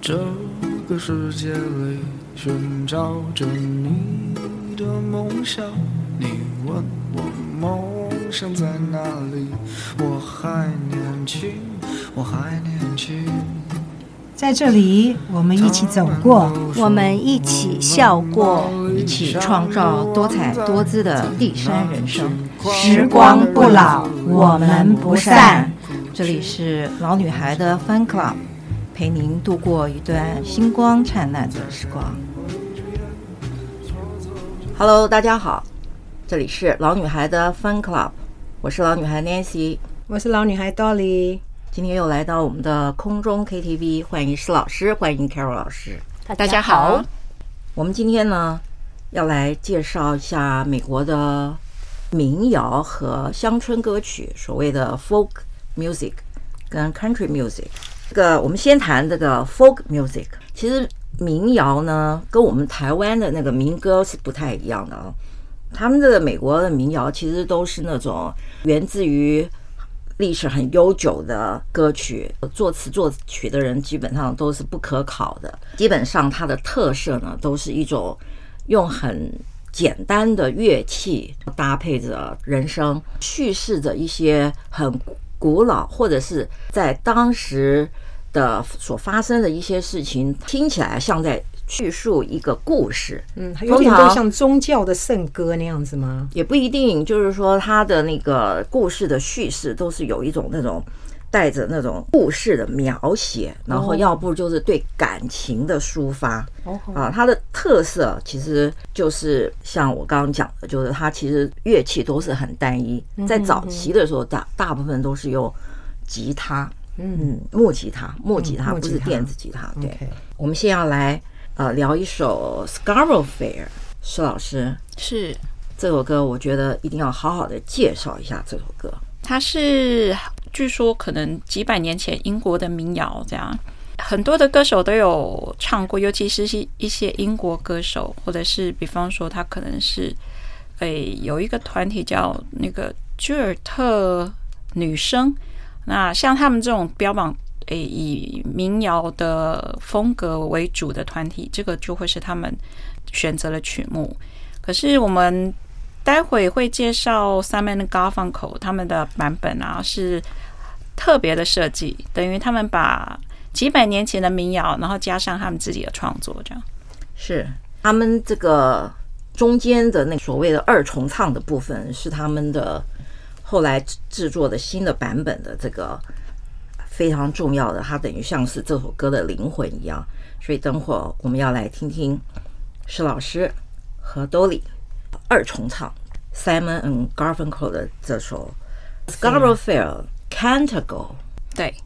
這個世界裡尋找着你的夢想，你問我夢想在哪裡？我還年輕，我還年輕。 在這裡，我們一起走過， 我們一起笑過， 一起創造多彩多姿的第三人生。 時光不老，我們不散。 這裡是老女孩的 Fun Club， 陪您度過一段星光燦爛的時光。Hello， 大家好，這裡是老女孩的 Fun Club， 我是老女孩 Nancy， 我是老女孩 Dolly。 今天又来到我們的空中 KTV， 歡迎施老師，歡迎 Carol 老師。 大家好。 我們今天呢要來介紹一下美國的民謠和鄉村歌曲，所謂的 folk music 跟 country music。這個我們先談這個 folk music。其實民謠呢跟我們台灣的那個民歌是不太一樣的啊。他們這個美國的民謠其實都是那種源自於歷史很悠久的歌曲，作詞作曲的人基本上都是不可考的。基本上它的特色呢，都是一種用很簡單的樂器搭配着人聲，敘事着一些很古老或者是在當時的所發生的一些事情，聽起来像在叙述一個故事。 有點都像宗教的聖歌那樣子嗎？ 也不一定，就是說他的那個故事的敘事都是有一种那种带着那种故事的描写，然後要不就是对感情的抒发。它的特色其實就是像我剛剛講的，就是它其實樂器都是很單一，在早期的時候大部分都是用吉他，木吉他不是電子吉他。對，我們先要來聊一首 Scarborough Fair。施老師， 是這首歌我覺得一定要好好的介紹一下這首歌。 它是據說可能幾百年前英國的民謠，這樣很多的歌手都有唱過，尤其是一些英國歌手，或者是比方說他可能是有一個團體叫那個居尔特女聲，那像他們這種標榜以民謠的風格為主的團體，這個就會是他們選擇的曲目。可是我們待會會介紹 Simon & Garfunkel 他們的版本啊，是特別的設計，等於他們把幾百年前的民謠，然後加上他們自己的創作，這樣是他們這個中間的那所謂的二重唱的部分，是他們的後來制作的新的版本的這個非常重要的，它等於像是這首歌的靈魂一樣。所以等會兒我們要來聽聽施老師和 Dolly 二重唱 Simon and Garfunkel 的這首 Scarborough Fair Canticle。 对，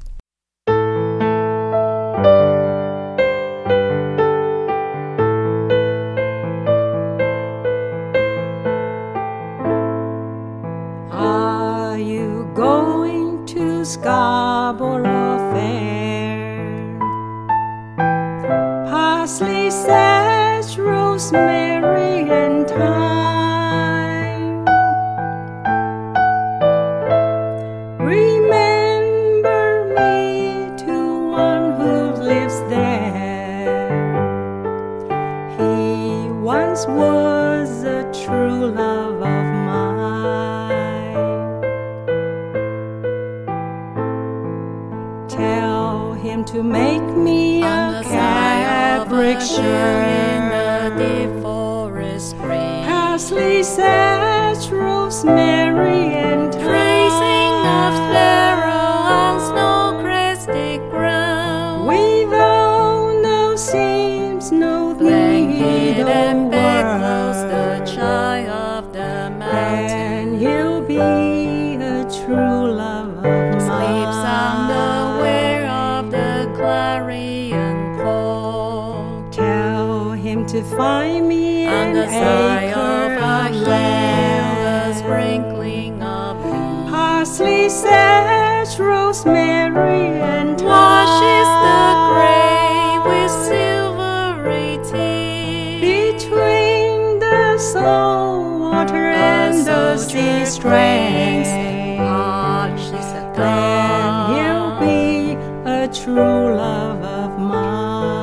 Scarborough Fair, parsley, sage, rosemary, and thyme. Remember me to one who lives there. He once was a true love of mine. Tell him to make me a cambric shirt in the forest green, parsley, sage, rosemary, and tracing of sparrow on snow-crested ground, without no seams, no blanket needle and work. bedclothes, the child of the mountain, And he'll be a true love of mine. sleeps on the clarion call. Tell him to find me on an the side of acre a of hill, land, a sprinkling of leaves, parsley, sage, rosemary, and washes the thyme. grave with silvery tears. Between the salt water and the sea strength, then he'll be a true love of mine.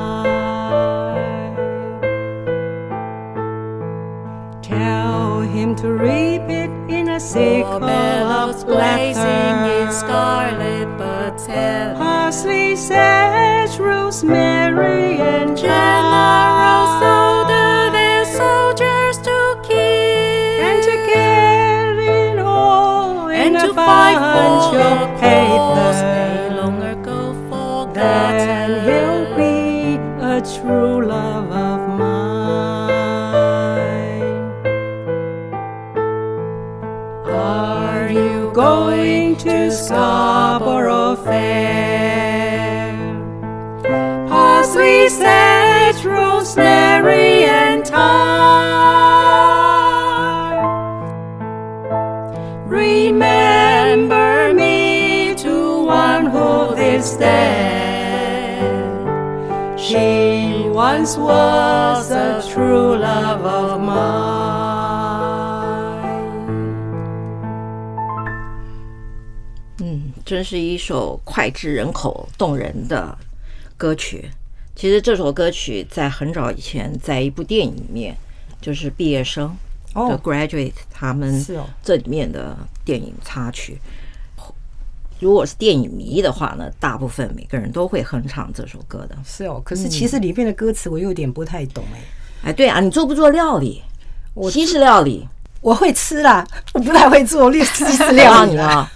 to reap it in a sickle of blazing in laughter. scarlet but tender. Parsley, sage, rosemary, and Generals thyme. order their soldiers to kill And to get it all in and a to fight bunch for of cause paper. they long ago forgotten. Then he'll be a true love of mine. Are you going to Scarborough Fair? Parsley, sage, rosemary, and thyme. Remember me to one who is dead. She once was a true love of mine. 真是一首膾炙人口、动人的歌曲。其实这首歌曲在很早以前，在一部电影里面，就是毕業生的 Graduate 他们这里面的電影插曲。如果是電影迷的話呢，大部分每個人都會哼唱這首歌的。 是哦，可是其實裡面的歌詞我有點不太懂哎，對啊，你做不做料理？西式料理我會吃啦，我不太會做西式料理啦。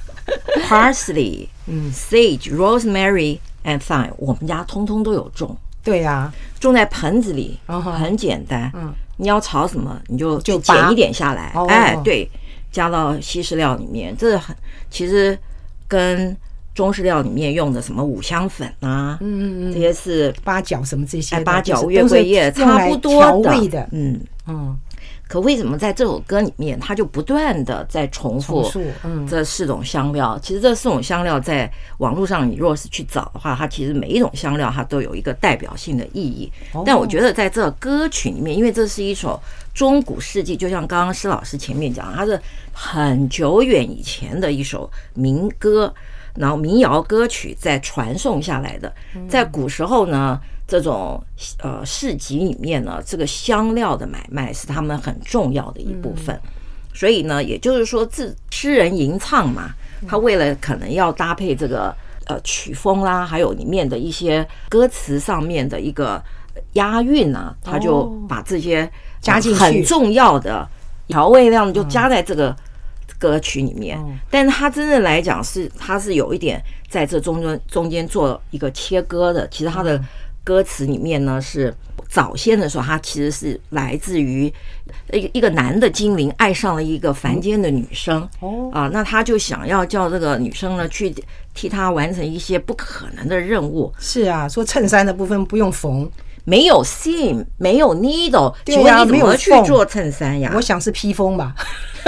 Parsley, sage, rosemary and thyme， 我們家通通都有種。 對啊， 種在盆子裡，很簡單。你要炒什麼，你就剪一點下來。哎，對，加到西式料裡面，這很其實跟中式料裡面用的什麼五香粉啊，這些是八角什麼這些， 八角、月桂葉差不多的。可為什麼在這首歌裡面，它就不斷的在重複這四種香料？其實這四種香料在網絡上，你若是去找的話，它其實每一種香料它都有一個代表性的意義。但我覺得在這歌曲裡面，因為這是一首中古世紀，就像剛剛施老師前面講，它是很久遠以前的一首民歌，然後民謠歌曲在傳送下來的。在古時候呢，這種市集裡面呢，這個香料的買賣是他們很重要的一部分。所以呢，也就是說，詩人吟唱嘛，他為了可能要搭配這個曲風啦，還有裡面的一些歌詞上面的一個押韻啊，他就把這些加進去很重要的調味料就加在這個歌曲裡面。但是他真正來講他是有一點在這中間做一個切割的。其實他的歌詞裡面呢，是早先的時候，它其實是來自於一個男的精靈愛上了一個凡間的女生那他就想要叫這個女生呢去替他完成一些不可能的任務。 是啊，說襯衫的部分不用縫， 沒有 seam， 沒有 needle， 請問你怎麼去做襯衫呀？ 我想是披風吧。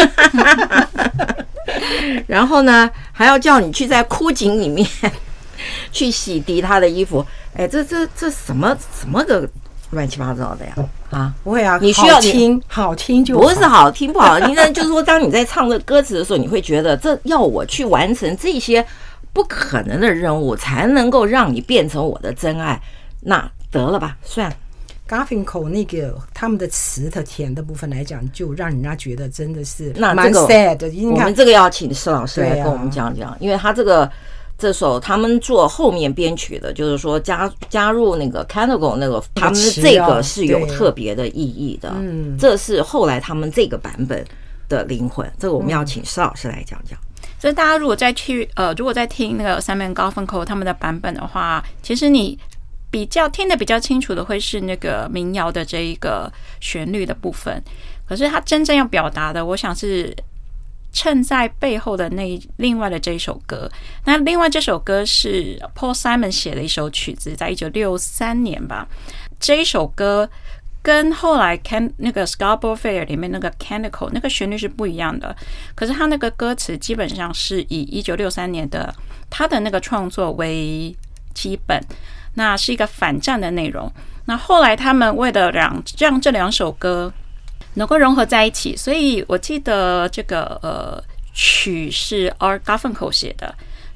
然後呢，還要叫你去在枯井裡面去洗滌他的衣服。哎，這什麼個亂七八糟的呀？ 不會啊， 你需要好聽就好， 不是好聽不好聽，但就是說，當你在唱這歌詞的時候，你會覺得這要我去完成這些不可能的任務，才能夠讓你變成我的真愛。那得了吧，算了。 Garfinkel 那個他們的詞的甜的部分來講，就讓人家覺得真的是蠻 sad 的。 我們這個要請施老師來跟我們講講，因為他這首他們做後面編曲的，就是說加入那個 Canago 那個，他們這個是有特別的意義的。這是後來他們這個版本的靈魂。這個我們要請施老師來講講。 所以大家如果再聽那個 Simon Garfunkel 他們的版本的話，其實你聽得比較清楚的會是那個民謠的這一個旋律的部分。可是他真正要表達的，我想是襯在背後的另外的這一首歌。那另外這首歌是 Paul Simon 寫的一首曲子，在1963年吧。這一首歌跟後來那個 Scarborough Fair 裡面那個 Canicle 那個旋律是不一樣的。可是他那個歌詞基本上是以1963年的他的那個創作為基本，那是一個反戰的內容。那後來他們為了讓這兩首歌能夠融合在一起，所以我記得這個曲是 Art Garfunkel 寫的，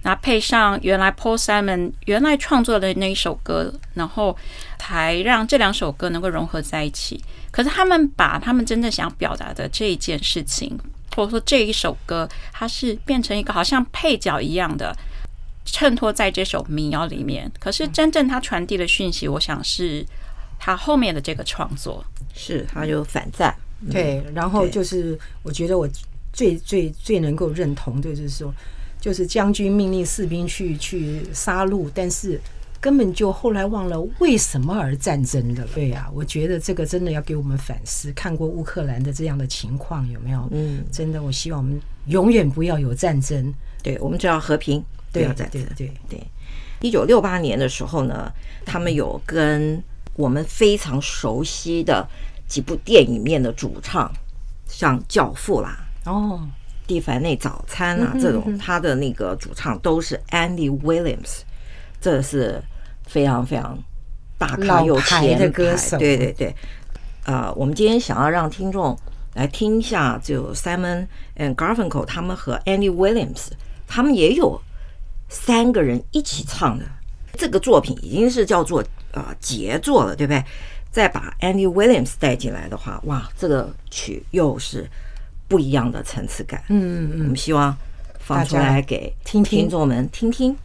那配上原來 Paul Simon 原來創作的那一首歌，然後才讓這兩首歌能夠融合在一起。可是他們把他们真正想表達的這一件事情，或者說這一首歌，它是變成一個好像配角一樣的襯托在這首民謠裡面。可是真正它傳遞的訊息，我想是他後面的這個創作， 是他有反戰。 對，然後就是我覺得我最能夠認同的就是說，就是將軍命令士兵去殺戮，但是根本就後來忘了為什麼而戰爭的了。對啊，我覺得這個真的要給我們反思。看過烏克蘭的這樣的情況有沒有？真的，我希望我們永遠不要有戰爭。 對，我們只要和平，不要戰爭。对。1968年的時候呢，他們有跟我們非常熟悉的幾部電影裡面的主唱，像《教父》啦，蒂凡內早餐啊，這種他的那個主唱都是 Andy Williams， 這是非常非常大咖又前的歌手。 对，我们今天想要讓聽眾來聽一下，就 Simon and Garfunkel 他們和 Andy Williams， 他們也有3個人一起唱的這個作品，已經是叫做傑作了，對不對？再把 Andy Williams 帶進來的話，哇，這個曲又是不一樣的層次感。我們希望放出來給聽眾們聽聽。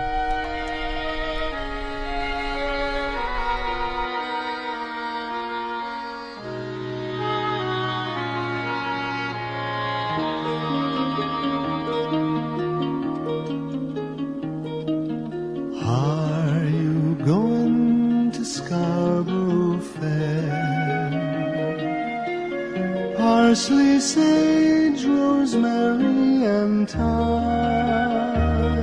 Are you going to Scarborough Fair? Parsley, sage, rosemary, and thyme.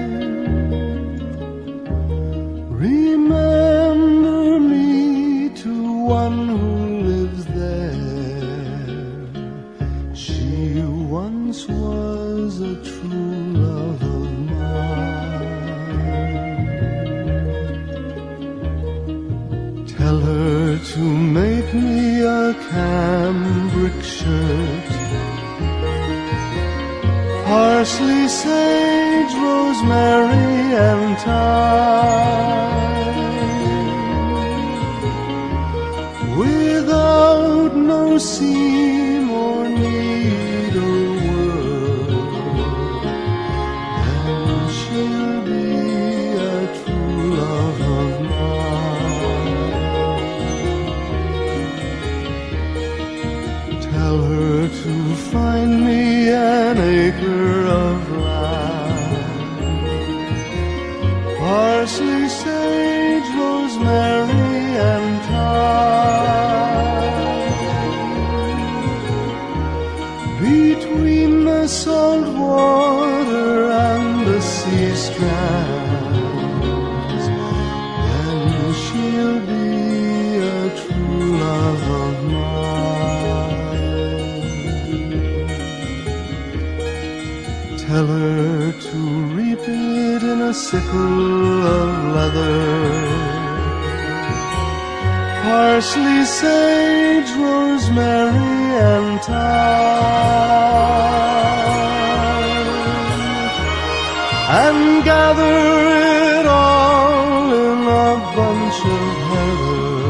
Remember me to one who lives there. She once was a true love of mine. Tell her to make me a cambric shirt. Parsley, sage, rosemary, and thyme. Without no seam or needlework, and she'll be a true love of mine. Tell her to find me an acre of land. Parsley, sage, rosemary, and thyme. Between the salt water and the sea strands, then she'll be a true love of mine. Tell her to reap it in a sickle of leather. Parsley, sage, rosemary, and thyme. And gather it all in a bunch of heather.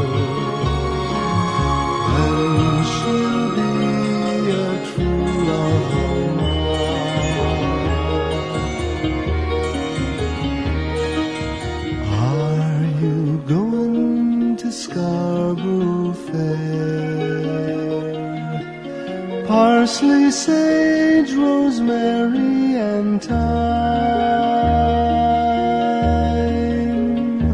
Then she'll be a true love of mine. Are you going to Scarborough Fair? Parsley, sage, rosemary, and thyme.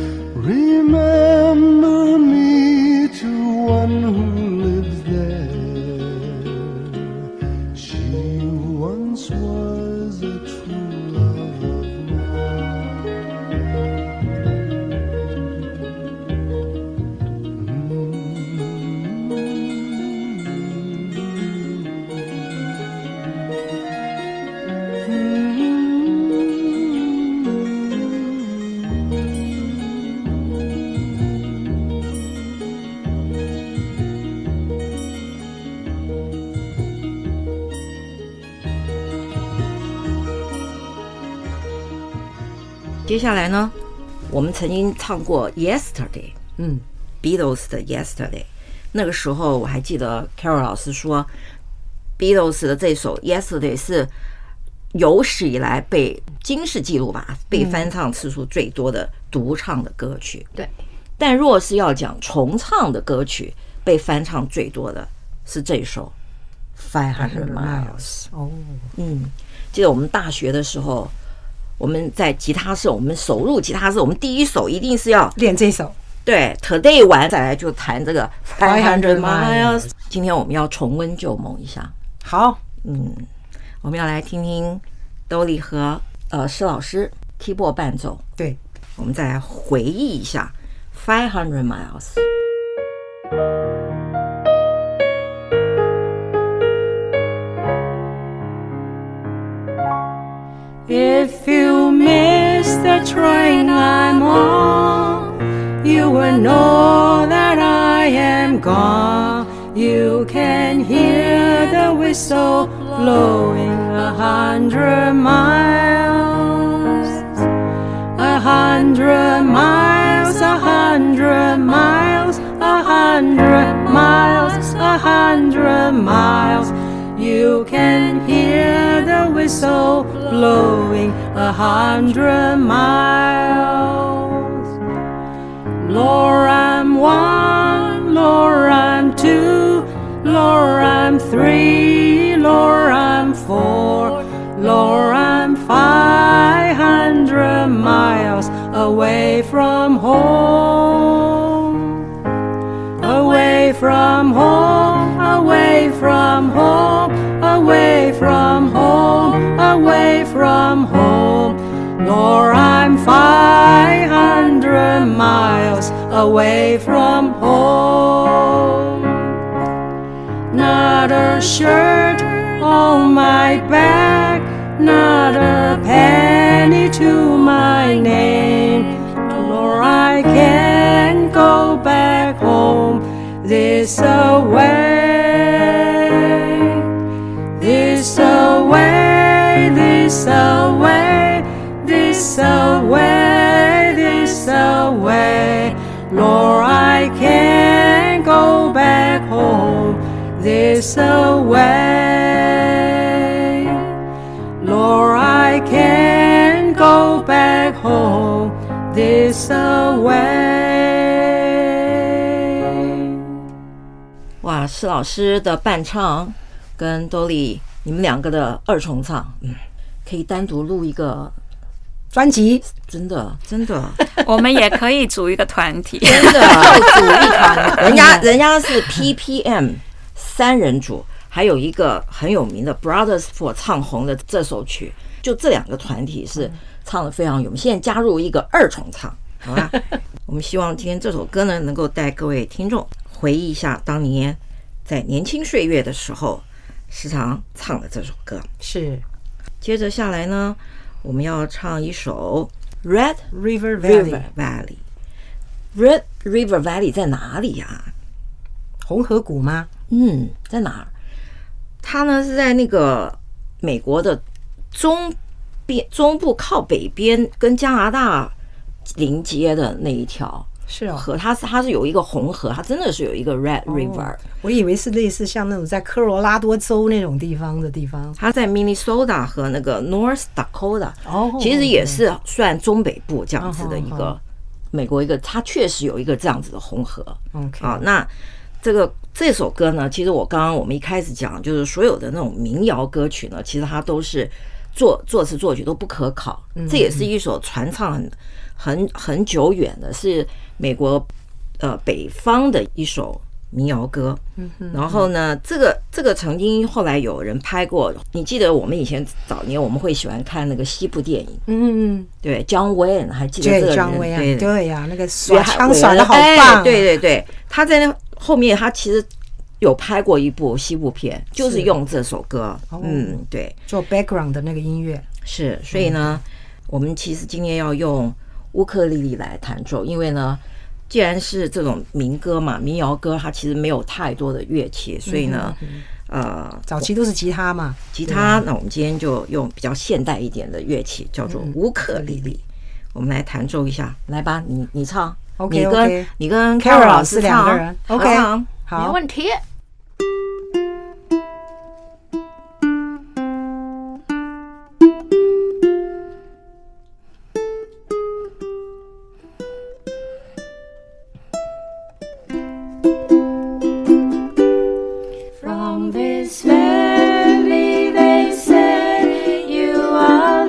Remember me to one who lives there. She once was a true love of mine. 接下來呢，我們曾經唱過 Yesterday， Beatles 的 Yesterday。那個時候我還記得 Carol 老師說 Beatles 的這首 Yesterday 是有史以來被金氏紀錄吧，被翻唱次數最多的獨唱的歌曲。 对， 但若是要講重唱的歌曲，被翻唱最多的是這首 500 Miles。 哦， 記得我們大學的時候，我們在吉他社，我們首入吉他社，我們第一首一定是要練這首。 對 ，Today 完再來就彈這個500 Miles。今天我們要重溫舊夢一下。 好， 我們要來聽聽 Dolly 和施老師 keyboard 伴奏。 对， 我們再來回憶一下500 Miles。 If you miss the train I'm on, you will know that I am gone. You can hear the whistle blowing 100 miles, 100 miles, 100 miles, 100 miles, 100 miles. You can hear the whistle blowing 100 miles. Lord, I'm 1, Lord, I'm 2, Lord, I'm 3, Lord, I'm 4, Lord, I'm 500 miles away from home, away from home, away from home, away from home, away from home. Lord, I'm 500 miles away from home. Not a shirt on my back, not a penny to my name. Lord, I can't go back home this away, this away, this away, this away, this away. Lord, I can't go back home this away. Lord, I can't go back home this away. 哇，施老師的伴唱跟 Dolly 你們兩個的二重唱，可以單獨錄一個專輯， 真的真的， 我們也可以組一個團體， 真的組一團，人家是 PPM 3人組，還有一個很有名的 Brothers for 唱紅的這首曲，就這兩個團體是唱得非常有名。現在加入一個二重唱，好吧？我們希望今天這首歌呢，能夠帶各位聽眾回憶一下當年在年輕歲月的時候時常唱的這首歌。 是。 接着下來呢，我們要唱一首 Red River Valley。Red River Valley 在哪裡呀？ 紅河谷嗎？ 在哪兒？它呢是在那個美國的中部靠北邊，跟加拿大臨接的那一條。 是哦， 河，它是有一個紅河，它真的是有一個 Red River。 我以為是類似像那種在科羅拉多州那種地方。它在 Minnesota 和那個 North Dakota，其實也是算中北部這樣子的一個美國一個，它確實有一個這樣子的紅河。啊，那這首歌呢，其實我們一開始講，就是所有的那種民謠歌曲呢，其實它都是作詞作曲都不可考，這也是一首傳唱很久遠的，是美國北方的一首民謠歌。然後呢，這個曾經後來有人拍過，你記得我們以前早年我們會喜歡看那個西部電影，對，John Wayne 還記得這個人？ 對呀，那個耍槍耍得好棒， 對，他在那後面他其實有拍過一部西部片，就是用這首歌，對， 做 background 的那個音樂是，所以呢，我們其實今天要用烏克麗麗來彈奏，因為呢，既然是這種民歌嘛，民謠歌，它其實沒有太多的樂器，所以呢， 早期都是吉他嘛， 吉他。那我們今天就用比較現代一點的樂器，叫做烏克麗麗。 我們來彈奏一下，來吧，你唱 ，OK， 你跟 Carol 老師師2個人 ，OK， 好， 没問題。 From this valley, they say you are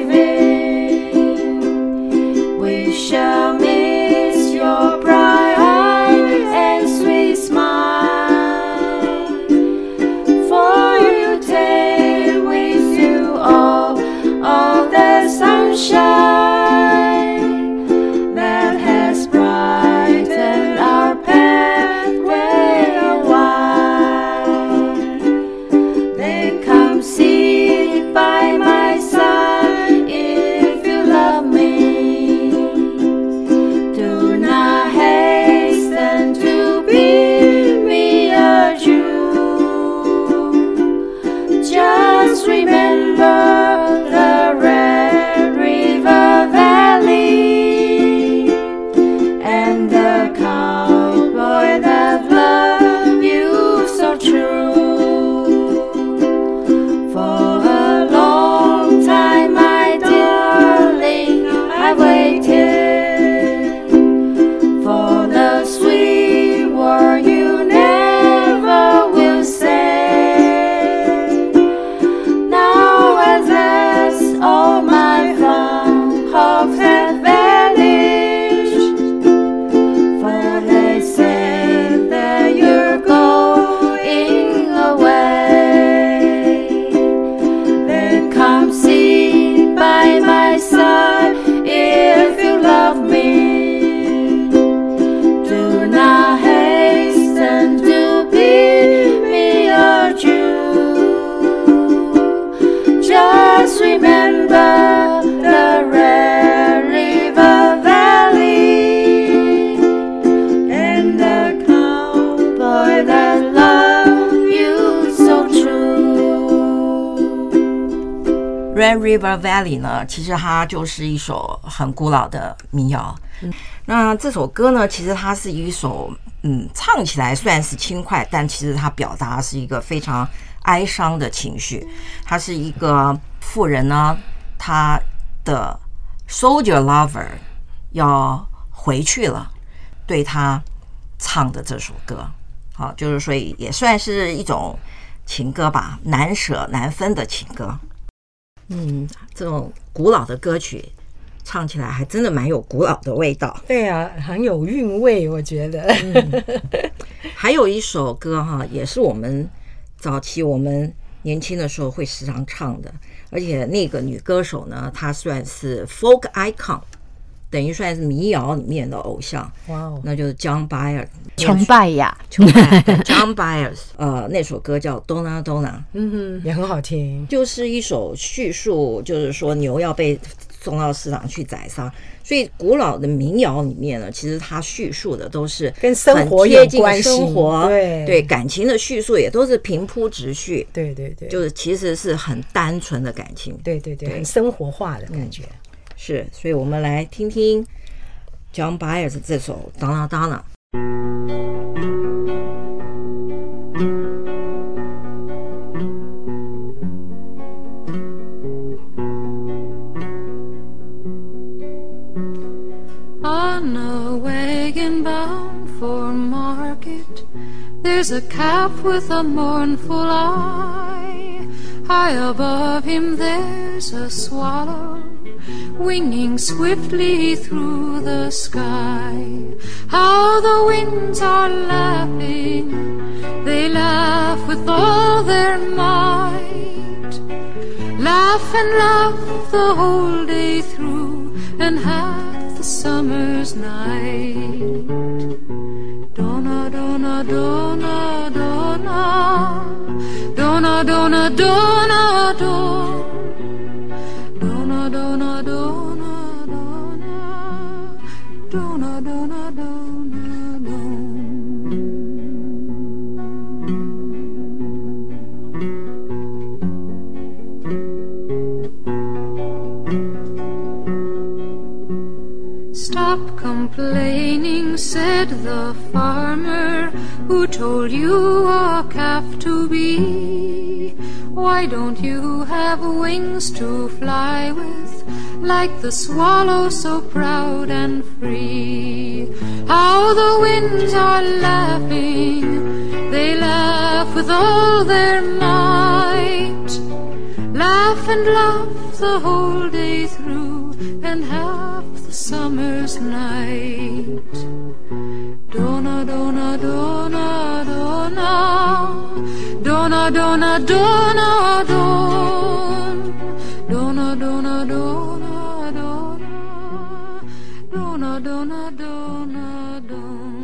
living. We shall miss your bright eyes and sweet smile. For you take with you all of the sunshine that has brightened our pathway a while. Then come sit by my side if you love me. Do not hasten to bid me adieu. Just remember the Red River Valley and the cowboy that loved you so true. For a long time, my darling, I waited for the sweet word you never will say. Now as all my fond hopes have vanished, for they said that you're going away. Then come sit by my side if you love me. Do not hasten to bid me adieu. Just remember the Red River Valley and the cowboy that loved you so true. Red River Valley 呢，其實它就是一首很古老的民謠。那這首歌呢，其實它是一首唱起來算是輕快，但其實它表達是一個非常哀傷的情緒。它是一個婦人呢，她的 soldier lover 要回去了，對她唱的這首歌，好，就是所以也算是一種情歌吧，難捨難分的情歌。這種古老的歌曲唱起來還真的蠻有古老的味道。 对啊，很有韻味，我覺得。 還有一首歌哈，也是我們早期我們年輕的時候會時常唱的，而且那個女歌手呢，她算是 folk icon， 等於算是民謠裡面的偶像。哇哦，那就是 John Byers， 崇拜呀 ，John Byers， 那首歌叫 Donna Donna， 也很好聽， 就是一首敘述，就是說牛要被送到市場去宰殺，所以古老的民謠裡面呢，其實它敘述的都是跟生活有關係， 生活對感情的敘述也都是平鋪直敘， 對對對， 就是其實是很單純的感情， 對對對，很生活化的感覺。 是，所以我們來聽聽 John Byers 這首 Donna Donna。On a wagon bound for market, there's a calf with a mournful eye. High above him there's a swallow winging swiftly through the sky. How the winds are laughing, they laugh with all their might. Laugh and laugh the whole day through and half the summer's night. Donna, Donna, Donna, Donna, Donna, Donna, Donna, Donna, Donna, Donna, Donna, Donna, Donna, Donna, complaining, said the farmer who told you a calf to be. Why don't you have wings to fly with, like the swallow so proud and free? How the winds are laughing, they laugh with all their might. Laugh and laugh the whole day through, and half the summer's night. Donna, donna, donna, donna, donna, donna, donna, don. Donna, donna, donna, donna, donna, donna, donna, don.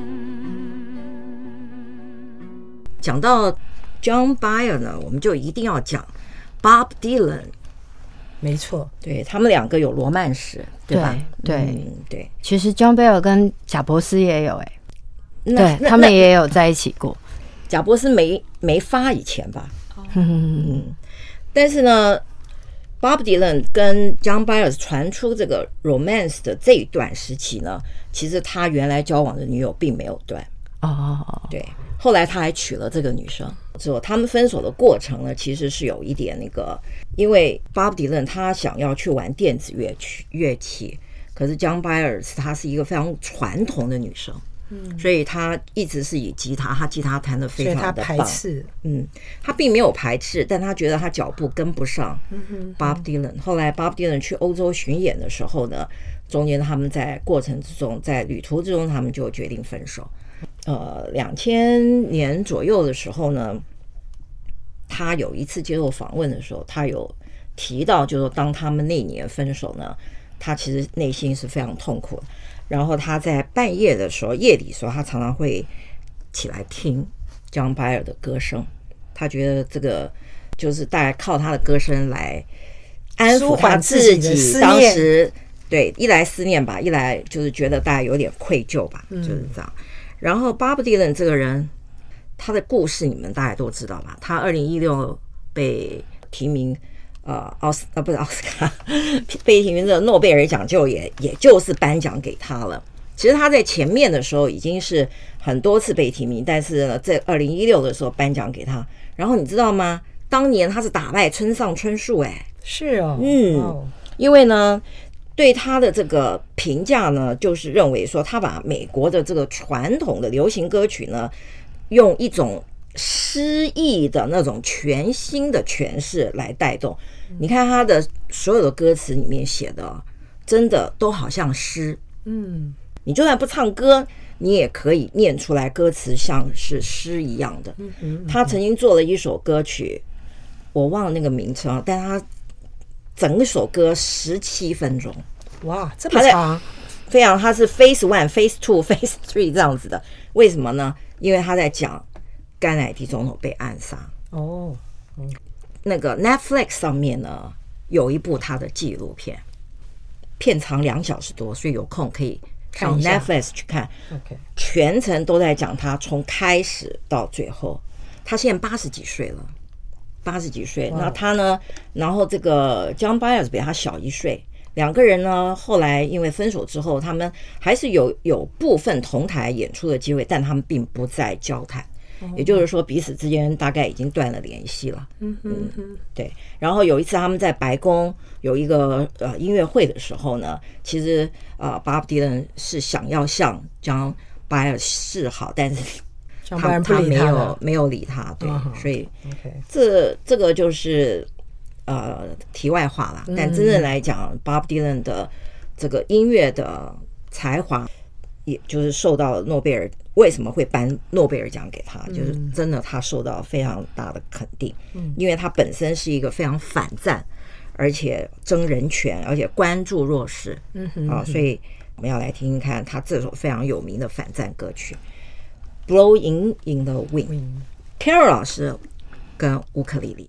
講到 John Bayer 呢，我們就一定要講 Bob Dylan。 沒錯， 對，他們兩個有羅曼史，對吧？ 對对。 其實 John Bayer 跟賈伯斯也有對，他們也有在一起過。 賈伯斯沒發以前吧？但是呢 ，Bob Dylan 跟 John Bayer 傳出這個 romance 的這一段時期呢，其實他原來交往的女友並沒有斷。對，後來他還娶了這個女生。之後他們分手的過程呢，其實是有一點那個，因為 Bob Dylan 他想要去玩電子樂器，可是 John Bayer 她是一個非常傳統的女生，所以他一直是以吉他，他吉他彈得非常的棒。所以他排斥，他並沒有排斥，但他覺得他腳步跟不上 Bob Dylan。後來 Bob Dylan 去歐洲巡演的時候呢，中間他們在過程之中，在旅途之中，他們就決定分手。2000年左右的時候呢，他有一次接受訪問的時候，他有提到，就是說當他們那年分手呢，他其實內心是非常痛苦的。然後他在半夜的時候，夜裡的時候，他常常會起來聽 John Bayer 的歌聲，他覺得這個就是大概靠他的歌聲來安撫他自己當時，對，一來思念吧，一來就是覺得大概有點愧疚吧，就是這樣。然後 Bob Dylan 這個人，他的故事你們大概都知道吧？他2016被提名不是奧斯卡，被提名的諾貝爾獎也就是頒獎給他了。其實他在前面的時候已經是很多次被提名，但是呢，在2016的時候頒獎給他。然後你知道嗎？當年他是打敗村上春樹， 是哦， 因為呢，對他的這個評價呢，就是認為說他把美國的這個傳統的流行歌曲呢，用一種詩意的那種全新的詮釋來帶動。你看他的所有的歌詞裡面寫的，真的都好像詩。你就算不唱歌，你也可以念出來歌詞像是詩一樣的。他曾經做了一首歌曲，我忘了那個名稱，但他整首歌17分鐘。 哇，這麼長！ 非常，他是 Phase 1、Phase 2、Phase 3這樣子的。為什麼呢？因為他在講甘乃迪總統被暗殺。那個 Netflix 上面呢有一部他的紀錄片，片長2小時多，所以有空可以上 Netflix 去看。全程都在講他從開始到最後。他現在80幾歲了，80幾歲。那他呢？然後這個 John Bayer 比他小1歲。兩個人呢，後來因為分手之後，他們還是有部分同台演出的機會，但他們並不再交談。也就是說，彼此之間大概已經斷了聯繫了。對。然後有一次他們在白宮有一個音樂會的時候呢，其實Bob Dylan 是想要向 John Bayer 示好，但是他沒有理他。對，所以這個就是題外話啦。但真正來講，Bob Dylan 的這個音樂的才華，也就是受到諾貝爾。為什麼會頒諾貝爾獎給他？就是真的，他受到非常大的肯定，因為他本身是一個非常反戰，而且爭人權，而且關注弱勢。所以我們要來聽聽看他這首非常有名的反戰歌曲《Blowing in the Wind》。Carol 老師跟烏克麗麗。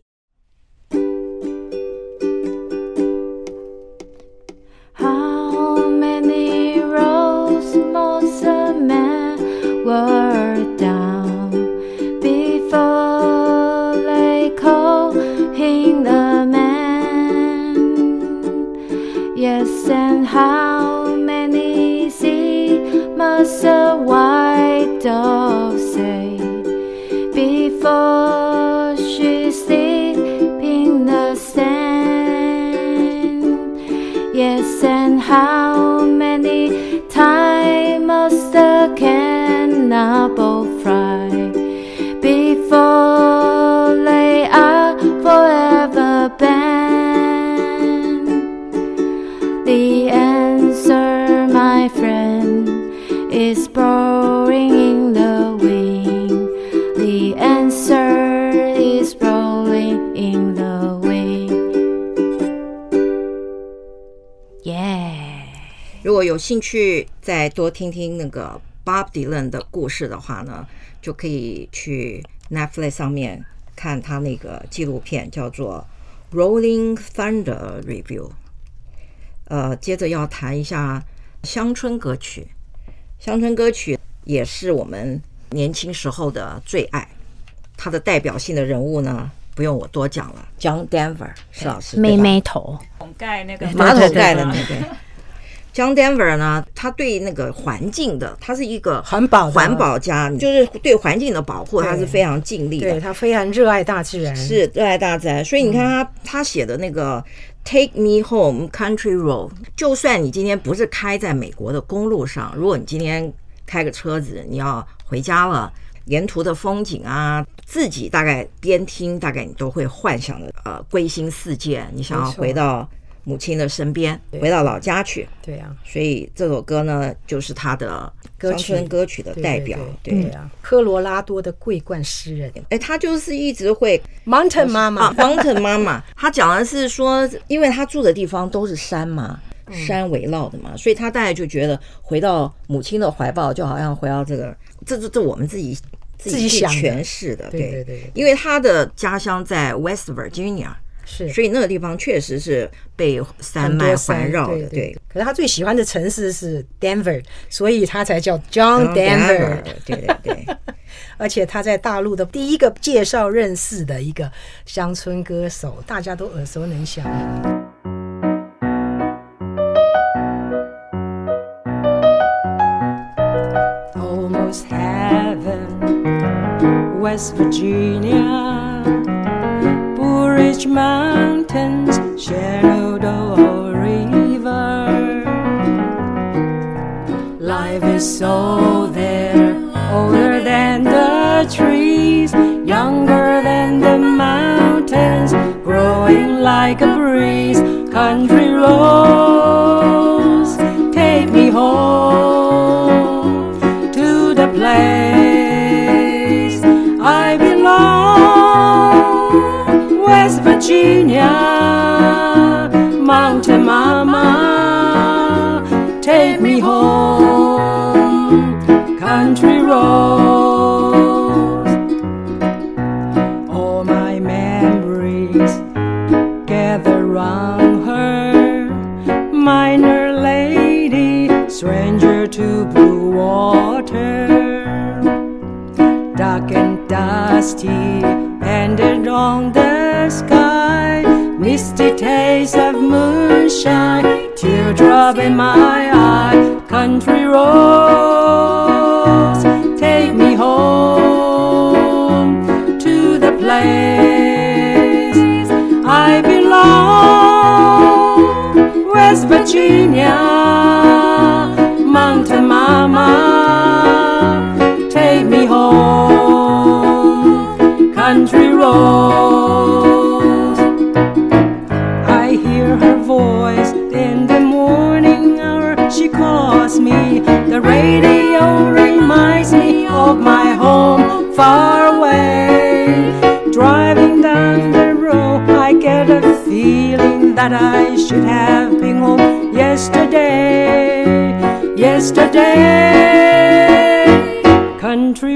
Were down before they call him the man. Yes, and how many seas does a white dove say before she sleeps in the sand? Yes, and how many times must the cannibal fry before they are forever banned? The answer, my friend, is blowing in the wind. The answer is rolling in the wind. Yeah. 如果有興趣再多聽聽那個 Bob Dylan 的故事的話呢，就可以去 Netflix 上面看他那個紀錄片，叫做 Rolling Thunder Review。接着要談一下鄉村歌曲。鄉村歌曲也是我們年輕時候的最愛，他的代表性的人物呢，不用我多講了 ，John Denver 是老師， 妹妹頭蓋那個馬桶蓋的那個。John Denver 呢，他對那個環境的，他是一個環保家，就是對環境的保護，他是非常盡力的。 对，他非常熱愛大自然， 是熱愛大自然。所以你看他寫的那個 Take Me Home Country Road， 就算你今天不是開在美國的公路上，如果你今天開個車子，你要回家了，沿途的風景啊，自己大概邊聽，大概你都會幻想的歸心似箭，你想要回到母親的身邊，回到老家去。 对啊， 所以這首歌呢，就是他的鄉村歌曲的代表。 对啊，科羅拉多的桂冠詩人， 他就是一直會 Mountain 媽媽 ，Mountain 媽媽，他講的是說，因為他住的地方都是山嘛，山圍繞的嘛，所以他大概就覺得回到母親的懷抱，就好像回到這我們自己去詮釋的。對，因為他的家鄉在 West Virginia。是，所以那個地方確實是被山脈環繞的。對， 可是他最喜歡的城市是 Denver， 所以他才叫 John Denver。 對。 而且他在大陸的第一個介紹認識的一個鄉村歌手，大家都耳熟能詳。 Almost heaven, West Virginia.Blue Ridge Mountains, Shenandoah River. Life is so there, older than the trees, younger than the mountains, growing like a breeze. Country roads, take me home to the place I belong.West Virginia, Mountain Mama, take me home, country roads. All my memories gather round her, miner lady, stranger to blue water, dark and dusty.Ended on the sky, misty taste of moonshine, teardrop in my eye. Country roads, take me home to the place I belong. West Virginia, Mountain Mama, take me home.Country roads. I hear her voice in the morning hour. She calls me. The radio reminds me of my home far away. Driving down the road, I get a feeling that I should have been home yesterday. Country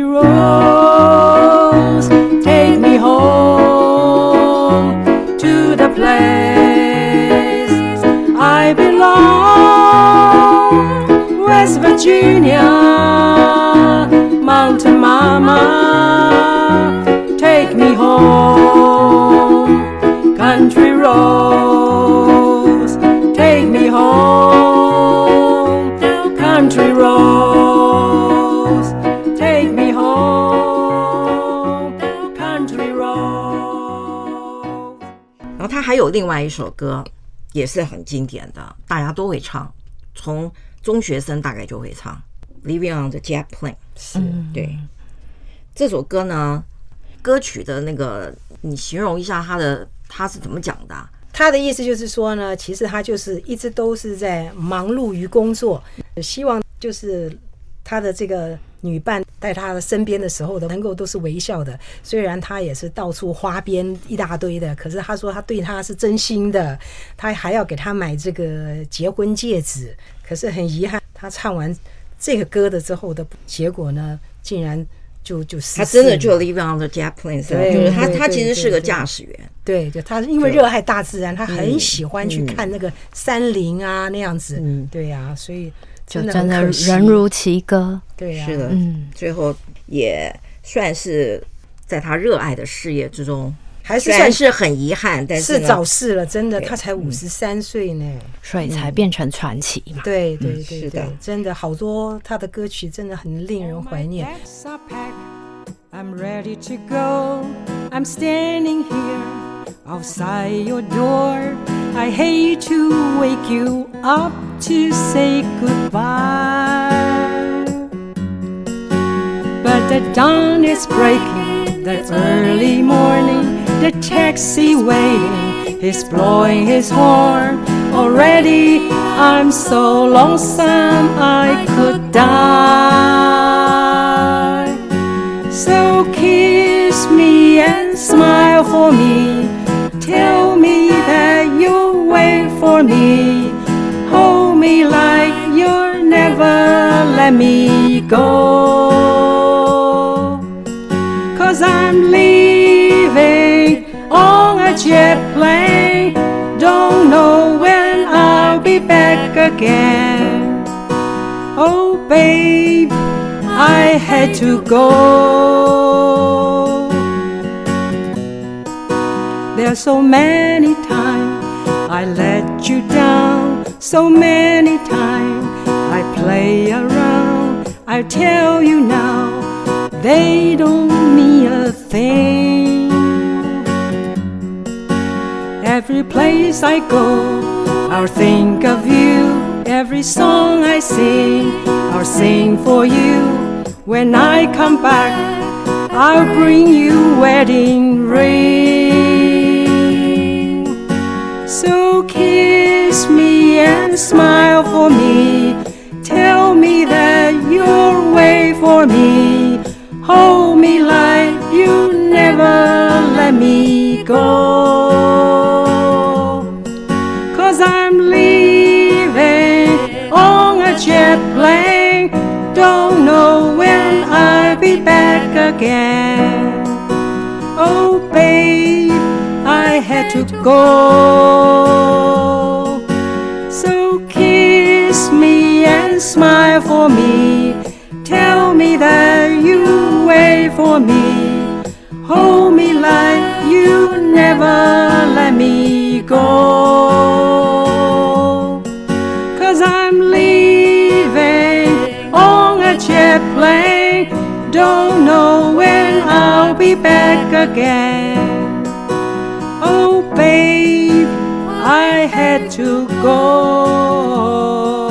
roads.Take me home to the place I belong. West Virginia, Mountain Mama, take me home. Country roads, take me home. Country roads. 他還有另外一首歌也是很經典的，大家都會唱，從中學生大概就會唱 Living on the Jet Plane。 是， 对，這首歌呢，歌曲的那個你形容一下他是怎麼講的啊？ 他的意思就是說呢，其實他就是一直都是在忙碌於工作，希望就是他的這個女伴在他的身邊的時候能夠都是微笑的。雖然他也是到處花邊一大堆的，可是他說他對他是真心的，他還要給他買這個結婚戒指。可是很遺憾，他唱完這個歌的之後的結果呢，竟然就他真的就 live on the jet plane， 就是他其實是個駕駛員。 對，就他因為熱愛大自然，他很喜歡去看那個山林啊那樣子。对呀，所以真的人如其歌。 对呀， 是的，最後也算是在他熱愛的事業之中， 還是算是很遺憾，但是早逝了，真的，他才53岁呢， 所以才变成傳奇嘛。 對對對對，真的好多他的歌曲真的很令人懷念。 I'm ready to go. I'm standing here outside your door. I hate to wake you up to say goodbye, but the dawn is breaking, the early morning, the taxi waiting, he's blowing his horn. Already I'm so lonesome I could die. So kiss me and smile for me. Tell me that you'll wait for me. Hold me like you'll never let me go. 'Cause I'm leaving on a jet plane. Don't know when I'll be back again. Oh babe, I had to go. There's so many times I let you down, so many times I play around. I tell you now, they don't mean a thing. Every place I go, I'll think of you. Every song I sing, I'll sing for you. When I come back, I'll bring you wedding ring. So kiss me and smile for me. Tell me that you'll wait for me. Hold me like you never let me go. 'Cause I'm leaving on a jet plane. Don't know when I'll be back again. Oh babe, I had to go. So kiss me and smile for me. Tell me that you wait for me. Hold me like you never let me go. 'Cause I'm leaving on a jet plane. Don't know when I'll be back again. Oh babe, I had to go.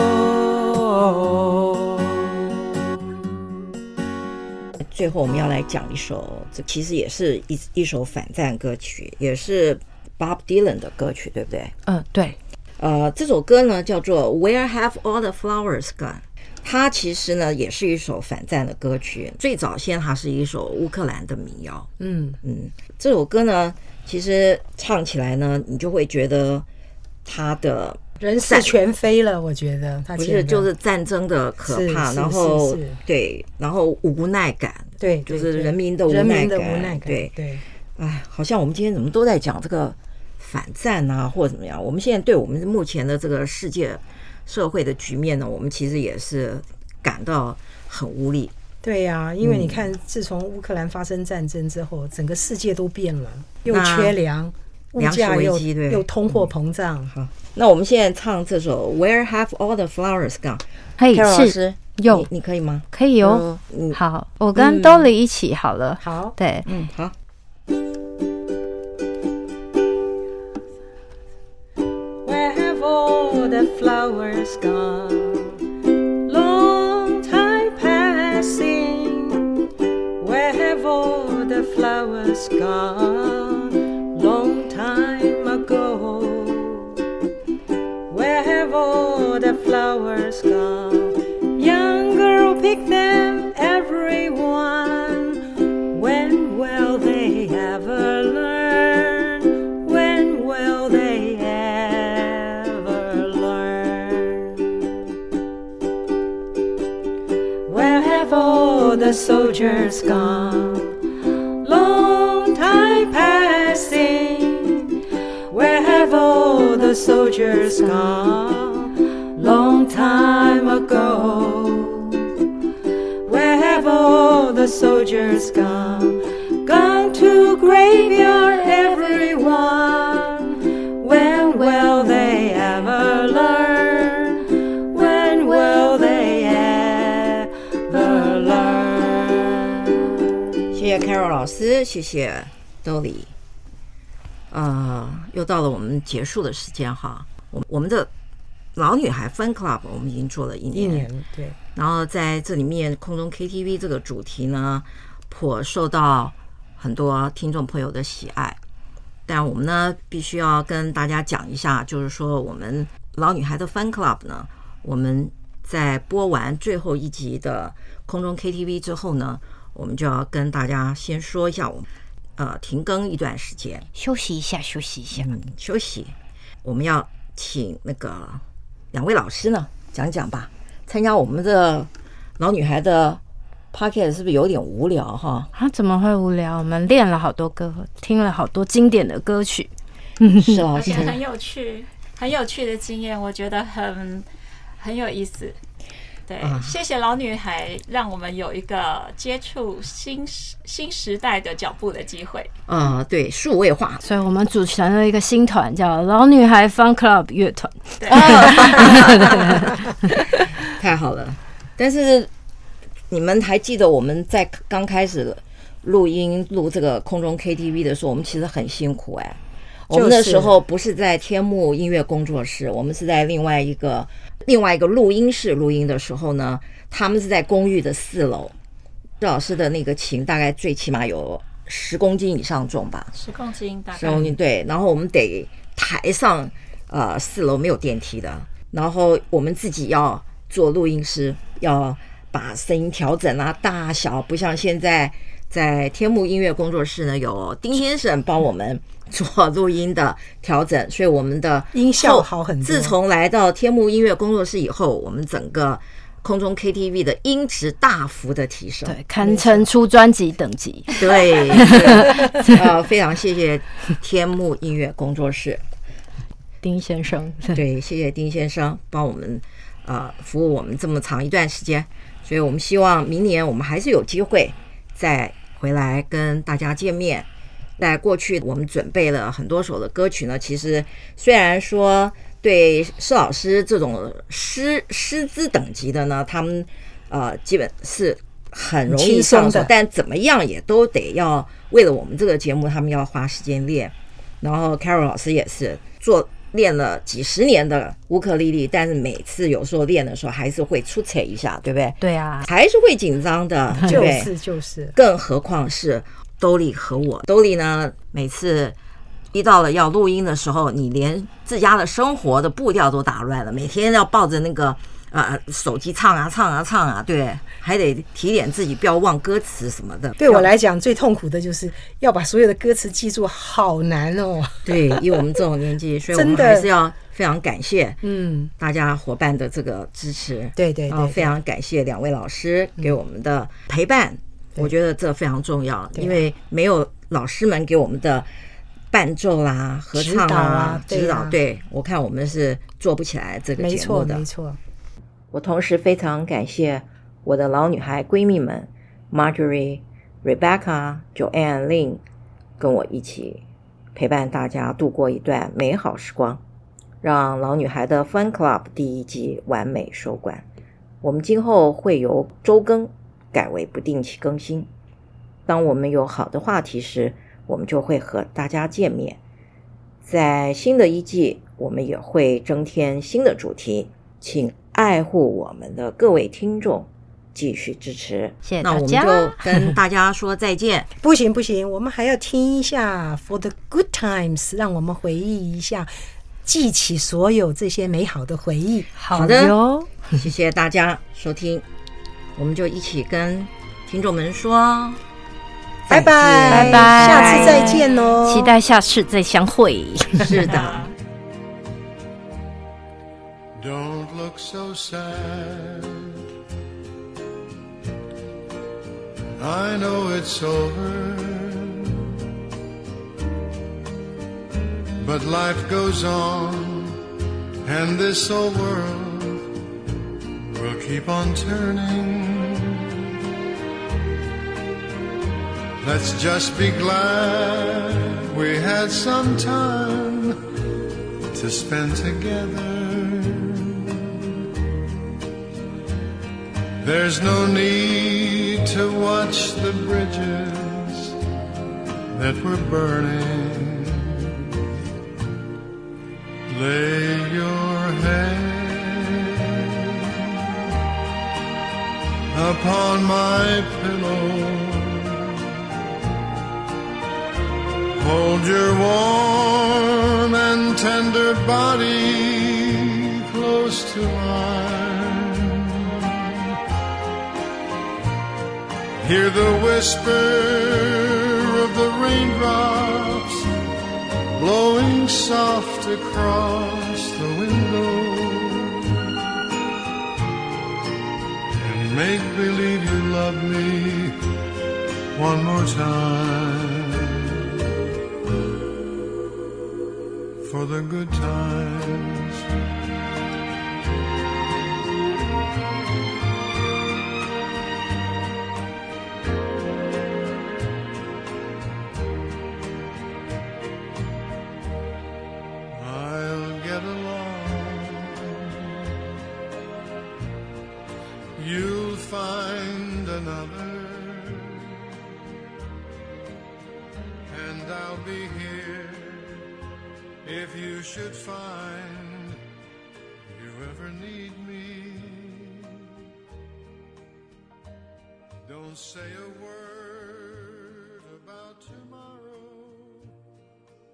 最後我們要來講一首，這其實也是一首反戰歌曲，也是 Bob Dylan 的歌曲，對不對？ 對。 這首歌呢叫做 Where Have All the Flowers Gone。它其實呢也是一首反戰的歌曲，最早先它是一首烏克蘭的民謠。這首歌呢其實唱起來呢，你就會覺得它的人事全非了。我覺得它不是就是戰爭的可怕，然後對，然後無奈感， 對， 就是人民的无奈感，对。哎，好像我們今天怎麼都在講這個反戰啊，或者怎麼樣？我們現在對我們目前的這個世界社會的局面呢，我們其實也是感到很無力。 对呀，因為你看，自從烏克蘭發生戰爭之後，整個世界都變了，又缺糧，物價又通貨膨脹。 好，那我們現在唱這首 Where Have All the Flowers Gone？ 嘿， 老師有你可以嗎？ 可以哦。好，我跟 Dolly 一起好了。 好， 對， 好。 all the flowers gone? Long time passing. Where have all the flowers gone? Long time ago. Where have all the flowers gone? Young girl, pick them, everyone. When will they ever learn? When will they ever learn? Where have all the soldiers gone? Long time passing. Where have all the soldiers gone? Long time ago. Where have all the soldiers gone? Gone to graveyard, everyone. When will they ever learn? When will they ever learn? 謝謝 Carol 老師，謝謝 Dolly。又到了我們結束的時間哈。我們的老女孩 Fun Club 我們已經做了一年， 对。 然後在這裡面空中 KTV 這個主題呢，頗受到很多聽眾朋友的喜愛。但我們呢，必須要跟大家講一下，就是說我們老女孩的 Fun Club 呢，我們在播完最後一集的空中 KTV 之後呢，我們就要跟大家先說一下我們停更一段時間， 休息一下。休息。我們要請那个2位老師呢講講吧。參加我們的老女孩的 podcast 是不是有點無聊哈？ 怎麼會無聊？我們練了好多歌，聽了好多經典的歌曲。 是老師， 而且很有趣的經驗，我覺得很有意思。對，謝謝老女孩，讓我們有一個接觸新時代的腳步的機會。 對，數位化， 所以我們組成了一個新團，叫老女孩 Fun Club 樂團。 對， 太好了。但是你們還記得我們在剛開始錄這個空中 KTV 的時候，我們其實很辛苦哎。我們那時候不是在天幕音樂工作室，我們是在另外一個錄音室錄音的時候呢，他們是在公寓的4樓。趙老師的那個琴大概最起碼有10公斤以上重吧 ，10公斤大概 10公斤，對。然後我們得抬上4樓，沒有電梯的，然後我們自己要做錄音師，要把聲音調整啊大小，不像現在在天幕音樂工作室呢，有丁先生幫我們做錄音的調整，所以我們的音效好很多。 自從來到天幕音樂工作室以後，我們整個空中 KTV 的音質大幅的提升， 對，堪稱出專輯等級。 對，非常謝謝天幕音樂工作室丁先生， 對，謝謝丁先生幫我們服務我們這麼長一段時間，所以我們希望明年我們還是有機會再回來跟大家見面。在過去我們準備了很多首的歌曲呢，其實雖然說對施老師這種師資等級的呢，他們基本是很容易上手，但怎麼樣也都得要為了我們這個節目，他們要花時間練。然後 Carol 老師也是練了幾十年的烏克麗麗，但是每次有時候練的時候還是會出彩一下，對不對？ 對啊， 還是會緊張的，對不對？ 就是， 更何況是Dolly和我，Dolly呢，每次一到了要錄音的時候，你連自家的生活的步調都打亂了，每天要抱着那個手機唱啊，對，還得提點自己不要忘歌詞什麼的。 對我來講，最痛苦的就是要把所有的歌詞記住，好難哦。 對，以我們這種年紀，所以我們還是要非常感謝大家夥伴的這個支持。 對， 非常感謝2位老師給我們的陪伴。我覺得這非常重要，因為沒有老師們給我們的伴奏啦、合唱啦、指導，對，我看我們是做不起來這個節目的。 沒錯。 我同時非常感謝我的老女孩閨蜜們 Marjorie、Rebecca、Joanne、Lynn 跟我一起陪伴大家度過一段美好時光，讓老女孩的 Fun Club 第1季完美收官。我們今後會由週更改為不定期更新。當我們有好的話題時，我們就會和大家見面。在新的1季， 我們也會增添新的主題，請愛護我們的各位聽眾繼續支持。 謝謝大家。 那我們就跟大家說再見。 不行，我們還要聽一下 For the Good Times， 讓我們回憶一下，記起所有這些美好的回憶。 好的喲，謝謝大家收聽，我們就一起跟聽眾們說拜拜，下次再見哦， 期待下次再相會。 是的。 Don't look so sad. I know it's over, but life goes on, and this old world will keep on turning. Let's just be glad we had some time to spend together. There's no need to watch the bridges that were burning. Lay your head upon my pillow. Hold your warm and tender body close to mine. Hear the whisper of the raindrops blowing soft across the window, and make believe you love me one more time. For the good times. I'll get along. You'll find another, and I'll be here if you should find you ever need me. Don't say a word.